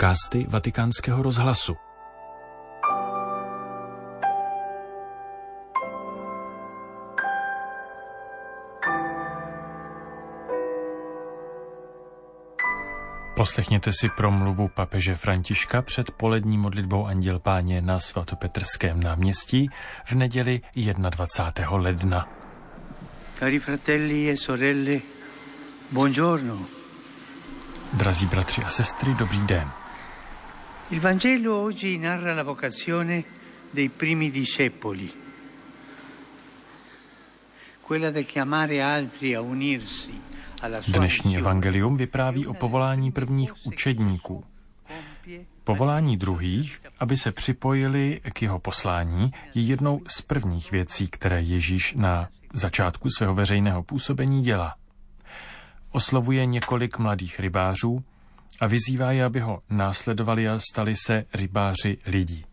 Podcasty Vatikánského rozhlasu. Poslechněte si promluvu papeže Františka před polední modlitbou Anděl Páně na svatopetrském náměstí v neděli 21. ledna. Cari fratelli e sorelle, buongiorno. Drazí bratři a sestry, dobrý den. Il Vangelo oggi narra la vocazione dei primi discepoli. Quella di chiamare altri a unirsi. Dnešní evangelium vypráví o povolání prvních učedníků. Povolání druhých, aby se připojili k jeho poslání, je jednou z prvních věcí, které Ježíš na začátku svého veřejného působení dělá. Oslovuje několik mladých rybářů a vyzývá je, aby ho následovali a stali se rybáři lidí.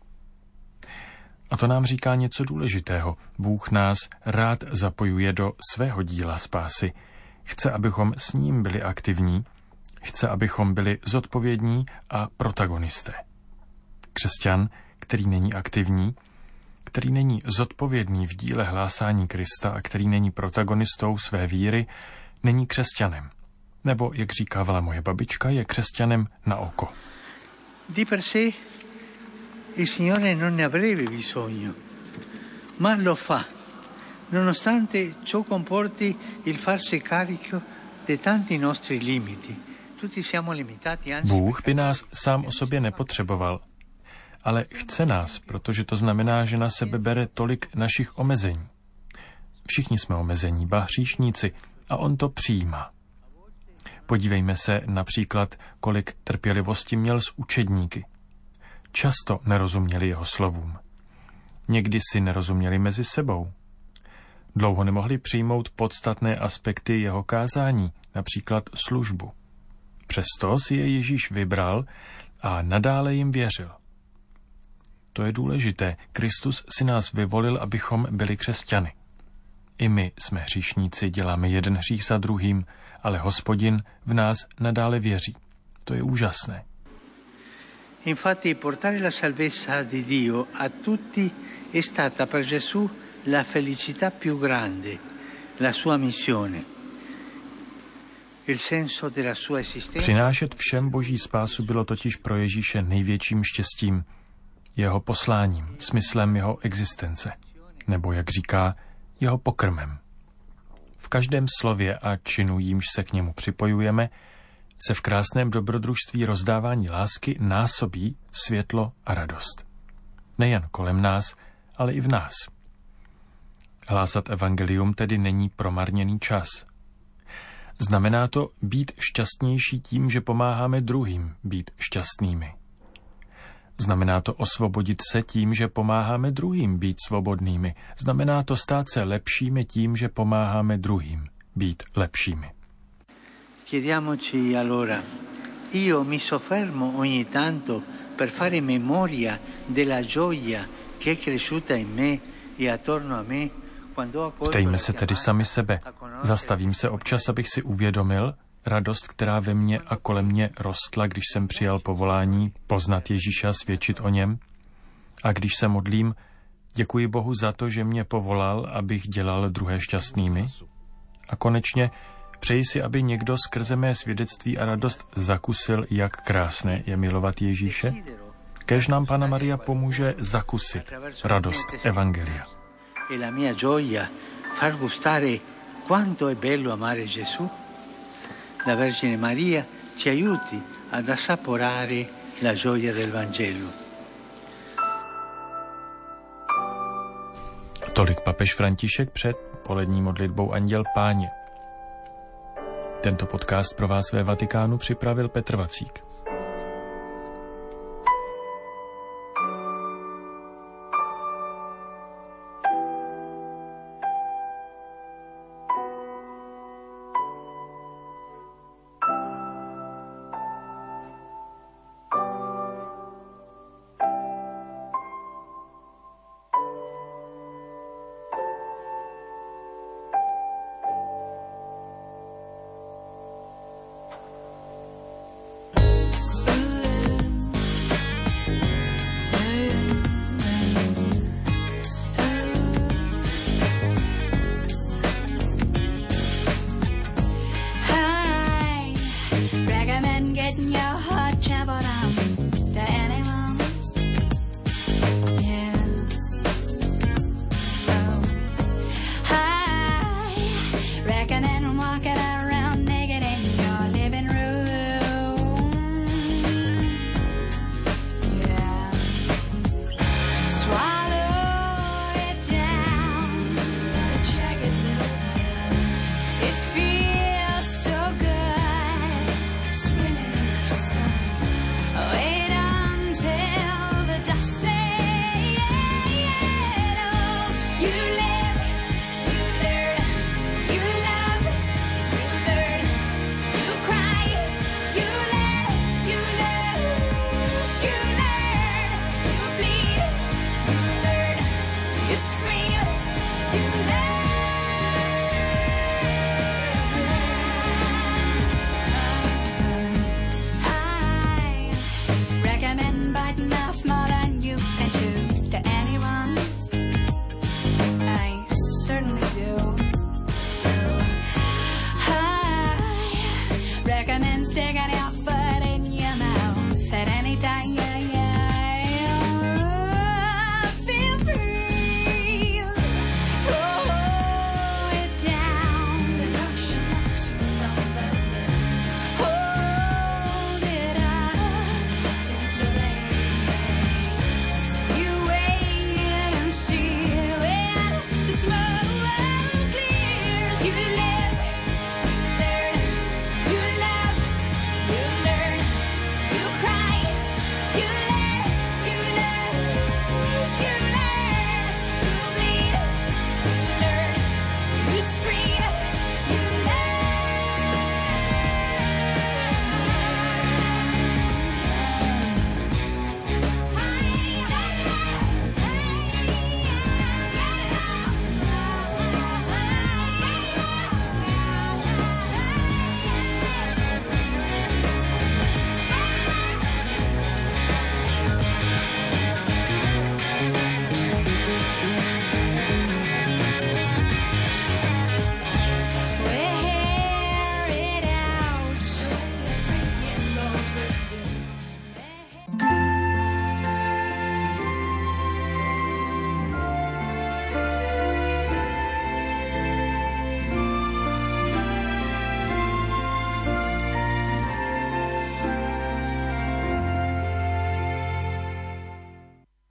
A to nám říká něco důležitého. Bůh nás rád zapojuje do svého díla spásy. Chce, abychom s ním byli aktivní, chce, abychom byli zodpovědní a protagonisté. Křesťan, který není aktivní, který není zodpovědný v díle hlásání Krista a který není protagonistou své víry, není křesťanem. Nebo, jak říkávala moje babička, je křesťanem na oko. Di per sé il Signore non ne avrebbe bisogno, ma lo fa. Nonostante ciò comporti il farsi carico di tanti nostri limiti. Tutti siamo limitati, anzi. Bůh by nás sám o sobě nepotřeboval, ale chce nás, protože to znamená, že na sebe bere tolik našich omezení. Všichni jsme omezení, ba hříšníci, a on to přijímá. Podívejme se například, kolik trpělivosti měl s učedníky. Často nerozuměli jeho slovům. Někdy si nerozuměli mezi sebou. Dlouho nemohli přijmout podstatné aspekty jeho kázání, například službu. Přesto si je Ježíš vybral a nadále jim věřil. To je důležité. Kristus si nás vyvolil, abychom byli křesťany. I my jsme hříšníci, děláme jeden hřích za druhým, ale Hospodin v nás nadále věří. To je úžasné. Infatti portare la salvezza di Dio a tutti è stata per Gesù la felicità più grande, la sua missione. Il senso della sua esistenza. Přinášet všem boží spásu bylo totiž pro Ježíše největším štěstím, jeho posláním, smyslem jeho existence, nebo jak říká, jeho pokrmem. V každém slově a činu, jímž se k němu připojujeme, se v krásném dobrodružství rozdávání lásky násobí světlo a radost. Nejen kolem nás, ale i v nás. Hlásat evangelium tedy není promarněný čas. Znamená to být šťastnější tím, že pomáháme druhým být šťastnými. Znamená to osvobodit se tím, že pomáháme druhým být svobodnými. Znamená to stát se lepšími tím, že pomáháme druhým být lepšími. Chiediamoci allora, io mi soffermo ogni tanto per fare memoria della gioia che è cresciuta in me e attorno a me. Ptejme se tedy sami sebe. Zastavím se občas, abych si uvědomil radost, která ve mně a kolem mě rostla, když jsem přijal povolání poznat Ježíše a svědčit o něm. A když se modlím, děkuji Bohu za to, že mě povolal, abych dělal druhé šťastnými. A konečně přeji si, aby někdo skrze mé svědectví a radost zakusil, jak krásné je milovat Ježíše. Kéž nám Panna Maria pomůže zakusit radost evangelia. E la mia gioia far gustare quanto è bello amare Gesù. La Vergine Maria ci aiuti ad assaporare la gioia del Vangelo. Tolik papež František před polední modlitbou Anděl Páně. Tento podcast pro vás ve Vatikánu připravil Petr Vacík.